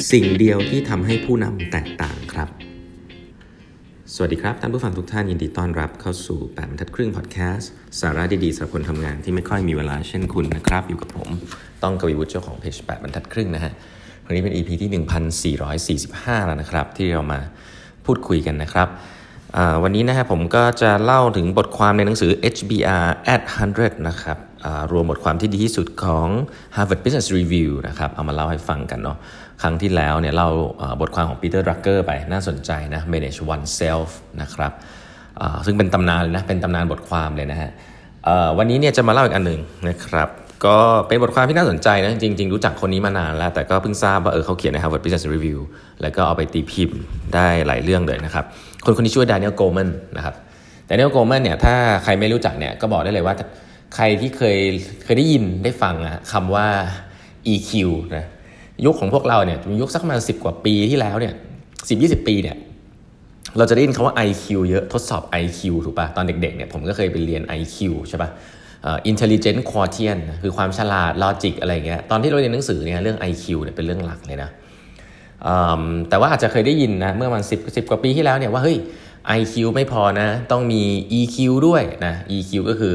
สิ่งเดียวที่ทำให้ผู้นำแตกต่างครับสวัสดีครับท่านผู้ฟังทุกท่านยินดีต้อนรับเข้าสู่8บรรทัดครึ่งพอดแคสต์สาระดีๆสำหรับคนทำงานที่ไม่ค่อยมีเวลาเช่นคุณนะครับอยู่กับผมต้องกวีวุฒิเจ้าของเพจ8บรรทัดครึ่งนะฮะวันนี้เป็น EP ที่1445แล้วนะครับที่เรามาพูดคุยกันนะครับวันนี้นะฮะผมก็จะเล่าถึงบทความในหนังสือ HBR at 100 นะครับรวมบทความที่ดีที่สุดของ Harvard Business Review นะครับเอามาเล่าให้ฟังกันเนาะครั้งที่แล้วเนี่ยเล่าบทความของ Peter Drucker ไปน่าสนใจนะ Manage Oneself นะครับซึ่งเป็นตำนานเลยนะเป็นตำนานบทความเลยนะฮะวันนี้เนี่ยจะมาเล่าอีกอันหนึ่งนะครับก็เป็นบทความที่น่าสนใจนะจริงๆรู้จักคนนี้มานานแล้วแต่ก็เพิ่งทราบว่าเขาเขียนใน Harvard Business Review แล้วก็เอาไปตีพิมพ์ได้หลายเรื่องเลยนะครับคนนี้ชื่อ Daniel Goleman นะครับ Daniel Goleman เนี่ยถ้าใครไม่รู้จักเนี่ยก็บอกได้เลยว่าใครที่เคยได้ยินได้ฟังคำว่า EQ นะยุคของพวกเราเนี่ยยุคสักประมาณ10 กว่าปีที่แล้วเนี่ย10-20 ปีเนี่ยเราจะได้ยินคำว่า IQ เยอะทดสอบ IQ ถูกป่ะตอนเด็กๆเนี่ยผมก็เคยไปเรียน IQ ใช่ป่ะintelligent quotient คือความฉลาด logic อะไรเงี้ยตอนที่เราเรียนหนังสือเนี่ยเรื่อง IQ เนี่ยเป็นเรื่องหลักเลยนะแต่ว่าอาจจะเคยได้ยินนะเมื่อมัน10 กว่าปีที่แล้วเนี่ยว่าเฮ้ย IQ ไม่พอนะต้องมี EQ ด้วยนะ EQ ก็คือ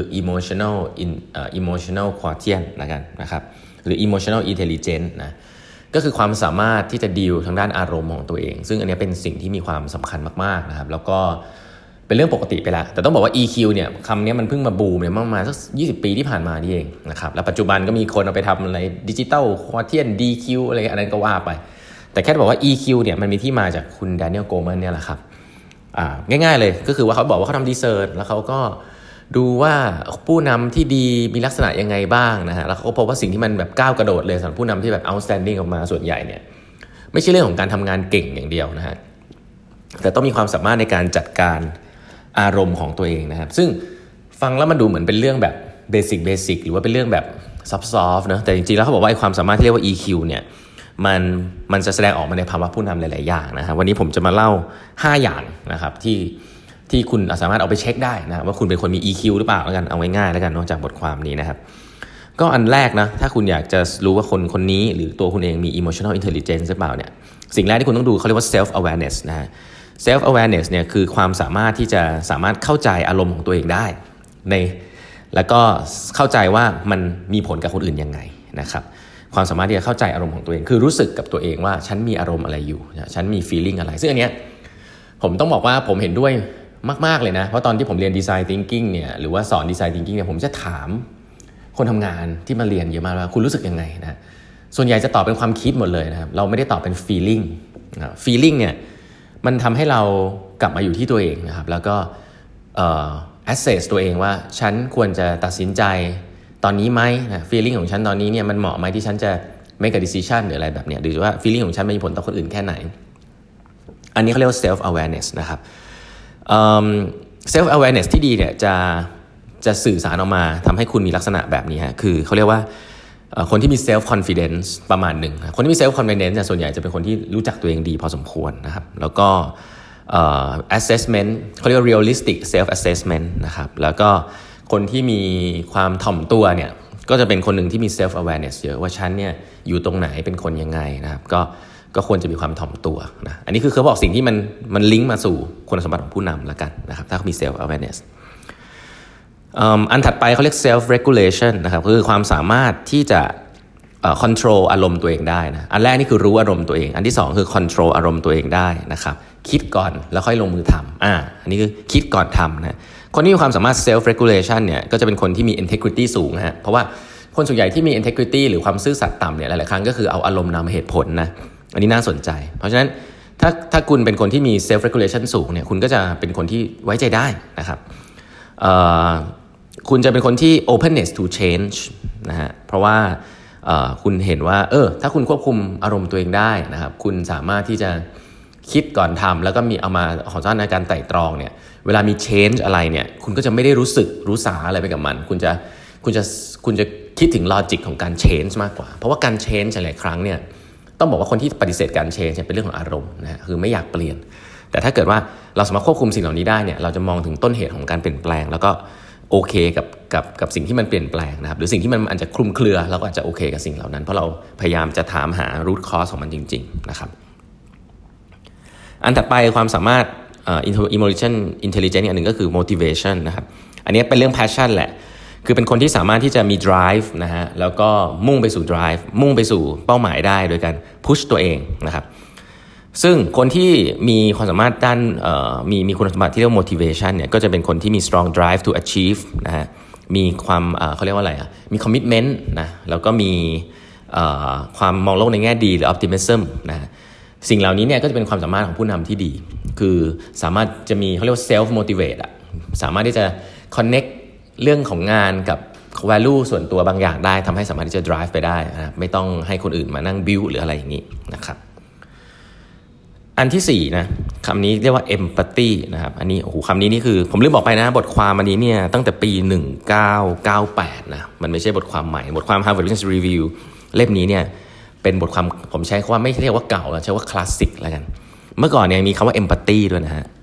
emotional quotient นะครับหรือ emotional intelligence นะก็คือความสามารถที่จะดีลทางด้านอารมณ์ของตัวเองซึ่งอันนี้เป็นสิ่งที่มีความสำคัญมากๆนะครับแล้วก็เป็นเรื่องปกติไปแล้วแต่ต้องบอกว่า EQ เนี่ยคำนี้มันเพิ่งมาบูมเนี่ยประมาณสัก20 ปีที่ผ่านมานี่เองนะครับแล้วปัจจุบันก็มีคนเอาไปทำอะไร digital quotient DQ อะไรอันนั้นก็ว่าไปแต่แค่บอกว่า EQ เนี่ยมันมีที่มาจากคุณ Daniel Goleman เนี่ยแหละครับง่ายๆเลยก็คือว่าเขาบอกว่าเขาทำรีเสิร์ชแล้วเขาก็ดูว่าผู้นำที่ดีมีลักษณะยังไงบ้างนะฮะแล้วเขาก็พบว่าสิ่งที่มันแบบก้าวกระโดดเลยสำหรับผู้นำที่แบบ outstanding ออกมาส่วนใหญ่เนี่ยไม่ใช่เรื่องของการทำงานเก่งอย่างเดียวนะฮะแต่ต้องมีความสามารถในการจัดการอารมณ์ของตัวเองนะครับซึ่งฟังแล้วมันดูเหมือนเป็นเรื่องแบบเบสิกหรือว่าเป็นเรื่องแบบซับซ้อนนะแต่จริงๆแล้วเขาบอกว่าความสามารถที่เรียกว่า EQ เนี่ยมันจะแสดงออกมาในภาวะผู้นำหลายๆอย่างนะฮะวันนี้ผมจะมาเล่า5อย่างนะครับที่คุณสามารถเอาไปเช็คได้นะว่าคุณเป็นคนมี EQ หรือเปล่าแล้วกันเอาง่ายๆแล้วกันเนาะจากบทความนี้นะครับก็อันแรกนะถ้าคุณอยากจะรู้ว่าคนนี้หรือตัวคุณเองมี emotional intelligence หรือเปล่าเนี่ยสิ่งแรกที่คุณต้องดูเขาเรียกว่า self awareness นะฮะ self awareness เนี่ยคือความสามารถที่จะสามารถเข้าใจอารมณ์ของตัวเองได้แล้วก็เข้าใจว่ามันมีผลกับคนอื่นยังไงนะครับความสามารถที่จะเข้าใจอารมณ์ของตัวเองคือรู้สึกกับตัวเองว่าฉันมีอารมณ์อะไรอยู่ฉันมี feeling อะไรซึ่งอันเนี้ยผมต้องบอกว่าผมเห็นด้วยมากๆเลยนะเพราะตอนที่ผมเรียน design thinking เนี่ยหรือว่าสอน design thinking เนี่ยผมจะถามคนทำงานที่มาเรียนเยอะมากว่าคุณรู้สึกยังไงนะส่วนใหญ่จะตอบเป็นความคิดหมดเลยนะครับเราไม่ได้ตอบเป็น feeling เนี่ยมันทำให้เรากลับมาอยู่ที่ตัวเองนะครับแล้วก็assess ตัวเองว่าฉันควรจะตัดสินใจตอนนี้ไหมนะ feeling ของฉันตอนนี้เนี่ยมันเหมาะไหมที่ฉันจะ make a decision หรืออะไรแบบเนี้ยหรือว่า feeling ของฉันมีผลต่อคนอื่นแค่ไหนอันนี้เขาเรียกว่า self awareness นะครับself awareness ที่ดีเนี่ยจะสื่อสารออกมาทำให้คุณมีลักษณะแบบนี้ฮะคือเขาเรียกว่าคนที่มี self confidence ประมาณหนึ่งคนที่มี self confidence เนี่ยส่วนใหญ่จะเป็นคนที่รู้จักตัวเองดีพอสมควรนะครับแล้วก็assessment เขาเรียกว่า realistic self assessment นะครับแล้วก็คนที่มีความถ่อมตัวเนี่ยก็จะเป็นคนหนึ่งที่มี self awareness เยอะว่าฉันเนี่ยอยู่ตรงไหนเป็นคนยังไงนะครับก็ควรจะมีความถ่อมตัวนะอันนี้คือเขาบอกสิ่งที่มันลิงก์มาสู่คุณสมบัติของผู้นำละกันนะครับถ้าเขามี self awareness อันถัดไปเขาเรียก self regulation นะครับคือความสามารถที่จะcontrol อารมณ์ตัวเองได้นะอันแรกนี่คือรู้อารมณ์ตัวเองอันที่สองคือ control อารมณ์ตัวเองได้นะครับคิดก่อนแล้วค่อยลงมือทำอันนี้คือคิดก่อนทำนะคนที่มีความสามารถ self regulation เนี่ยก็จะเป็นคนที่มี integrity สูงนะฮะเพราะว่าคนส่วนใหญ่ที่มี integrity หรือความซื่อสัตย์ต่ำเนี่ยหลายๆครั้งก็คือเอาอารมณ์นำเหตุผลนะอันนี้น่าสนใจเพราะฉะนั้นถ้าคุณเป็นคนที่มี self regulation สูงเนี่ยคุณก็จะเป็นคนที่ไว้ใจได้นะครับคุณจะเป็นคนที่ openness to change นะฮะเพราะว่าคุณเห็นว่าถ้าคุณควบคุมอารมณ์ตัวเองได้นะครับคุณสามารถที่จะคิดก่อนทำแล้วก็มีเอามาของสร้างในการไต่ตรองเนี่ยเวลามี change อะไรเนี่ยคุณก็จะไม่ได้รู้สาอะไรไปกับมันคุณจะคิดถึง logic ของการ change มากกว่าเพราะว่าการ change หลายครั้งเนี่ยต้องบอกว่าคนที่ปฏิเสธการ change เป็นเรื่องของอารมณ์นะคือไม่อยากเปลี่ยนแต่ถ้าเกิดว่าเราสามารถควบคุมสิ่งเหล่านี้ได้เนี่ยเราจะมองถึงต้นเหตุของการเปลี่ยนแปลงแล้วก็โอเคกับสิ่งที่มันเปลี่ยนแปลงนะครับหรือสิ่งที่มันอาจจะคลุมเครือเราก็อาจจะโอเคกับสิ่งเหล่านั้นเพราะเราพยายามจะถามหา root cause ของมันจริงๆนะครับอันถัดไปความสามารถemotion intelligence อันหนึ่งก็คือ motivation นะครับอันนี้เป็นเรื่อง passion แหละคือเป็นคนที่สามารถที่จะมี drive นะฮะแล้วก็มุ่งไปสู่ drive มุ่งไปสู่เป้าหมายได้โดยการ push ตัวเองนะครับซึ่งคนที่มีความสามารถด้านมีคุณสมบัติที่เรียกว่า motivation เนี่ยก็จะเป็นคนที่มี strong drive to achieve นะฮะมีความเขาเรียกว่าอะไรมี commitment นะแล้วก็มีความมองโลกในแง่ดีหรือ optimism นะสิ่งเหล่านี้เนี่ยก็จะเป็นความสามารถของผู้นำที่ดีคือสามารถจะมีเขาเรียกว่า self motivate สามารถที่จะ connect เรื่องของงานกับ value ส่วนตัวบางอย่างได้ทำให้สามารถที่จะ drive ไปได้นะไม่ต้องให้คนอื่นมานั่ง build หรืออะไรอย่างนี้นะครับอันที่4นะคำนี้เรียกว่า empathy นะครับอันนี้โอ้โหคำนี้นี่คือผมลืมบอกไปนะบทความอันนี้เนี่ยตั้งแต่ปี1998นะมันไม่ใช่บทความใหม่บทความ Harvard Business Review เล่มนี้เนี่ยเป็นบทความผมใช้คำว่าไม่เรียกว่าเก่าแล้วใช้ว่าคลาสสิกแล้วกันเมื่อก่อนเนี่ยมีคำว่า empathy ด้วยนะฮะ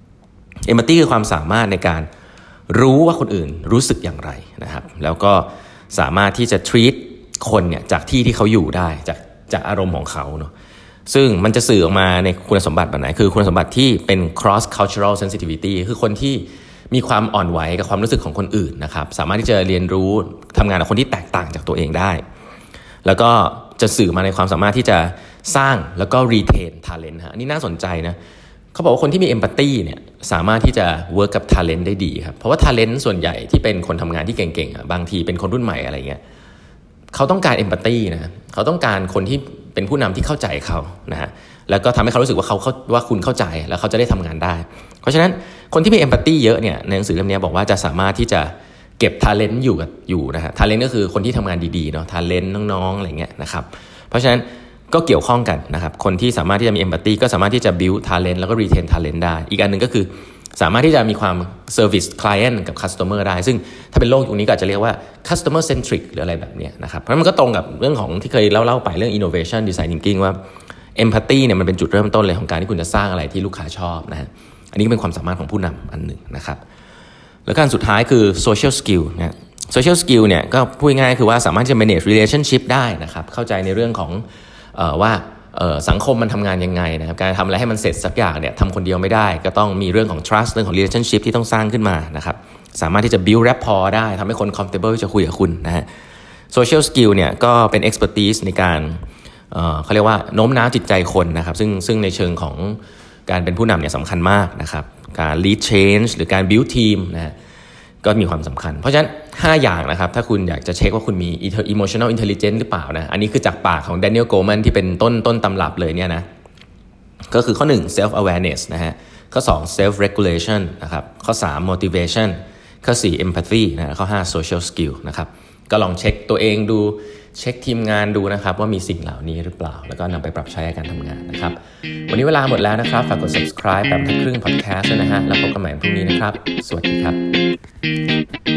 empathy คือความสามารถในการรู้ว่าคนอื่นรู้สึกอย่างไรนะครับแล้วก็สามารถที่จะ treat คนเนี่ยจากที่เขาอยู่ได้จากอารมณ์ของเขาเนาะซึ่งมันจะสื่อออกมาในคุณสมบัติแบบไหนคือคุณสมบัติที่เป็น cross cultural sensitivity คือคนที่มีความอ่อนไหวกับความรู้สึกของคนอื่นนะครับสามารถที่จะเรียนรู้ทำงานกับคนที่แตกต่างจากตัวเองได้แล้วก็จะสื่อมาในความสามารถที่จะสร้างแล้วก็ retain talent ฮะนี่น่าสนใจนะเขาบอกว่าคนที่มี empathy เนี่ยสามารถที่จะ work กับ talent ได้ดีครับเพราะว่า talent ส่วนใหญ่ที่เป็นคนทำงานที่เก่งๆบางทีเป็นคนรุ่นใหม่อะไรเงี้ยเขาต้องการ empathy นะเขาต้องการคนที่เป็นผู้นำที่เข้าใจเขานะฮะแล้วก็ทำให้เขารู้สึกว่าคุณเข้าใจแล้วเขาจะได้ทำงานได้เพราะฉะนั้นคนที่มี empathy เยอะเนี่ยในหนังสือเล่มนี้บอกว่าจะสามารถที่จะเก็บ talent อยู่นะฮะ talent ก็คือคนที่ทำงานดีๆเนาะ talent น้องๆอะไรเงี้ยนะครับเพราะฉะนั้นก็เกี่ยวข้องกันนะครับคนที่สามารถที่จะมี empathy ก็สามารถที่จะ build talent แล้วก็ retain talent ได้อีกอันนึงก็คือสามารถที่จะมีความ service client กับ customer ได้ซึ่งถ้าเป็นโลกยุคนี้ก็อาจจะเรียกว่า customer centric หรืออะไรแบบนี้นะครับเพราะมันก็ตรงกับเรื่องของที่เคยเล่าไปเรื่อง innovation design thinking ว่า empathy เนี่ยมันเป็นจุดเริ่มต้นเลยของการที่คุณจะสร้างอะไรที่ลูกค้าชอบนะฮะอันนี้ก็เป็นความสามารถของผู้นำอันหนึ่งนะครับแล้วการสุดท้ายคือ social skill นะ social skill เนี่ยก็พูดง่ายๆคือว่าสามารถจะ manage relationship ได้นะครับเข้าใจในเรื่องของว่าสังคมมันทำงานยังไงนะครับการทำอะไรให้มันเสร็จสักอย่างเนี่ยทำคนเดียวไม่ได้ก็ต้องมีเรื่องของ trust เรื่องของ relationship ที่ต้องสร้างขึ้นมานะครับสามารถที่จะ build rapport ได้ทำให้คน comfortable จะคุยกับคุณนะฮะ social skill เนี่ยก็เป็น expertise ในการเขาเรียกว่าโน้มน้าวจิตใจคนนะครับซึ่งในเชิงของการเป็นผู้นำเนี่ยสำคัญมากนะครับการ lead change หรือการ build team นะฮะก็มีความสำคัญเพราะฉะนั้น5อย่างนะครับถ้าคุณอยากจะเช็คว่าคุณมี emotional intelligence หรือเปล่านะอันนี้คือจากปากของ Daniel Goleman ที่เป็นต้นตำรับเลยเนี่ยนะก็คือข้อ1 self awareness นะฮะข้อ2 self regulation นะครับข้อ3 motivation ข้อ4 empathy นะข้อ5 social skill นะครับก็ลองเช็คตัวเองดูเช็คทีมงานดูนะครับว่ามีสิ่งเหล่านี้หรือเปล่าแล้วก็นำไปปรับใช้ในการทำงานนะครับวันนี้เวลาหมดแล้วนะครับฝากกด subscribe แบบทักครึ่ง podcast ด้วยนะฮะแล้วพบกันใหม่พรุ่งนี้นะครับสวัสดีครับ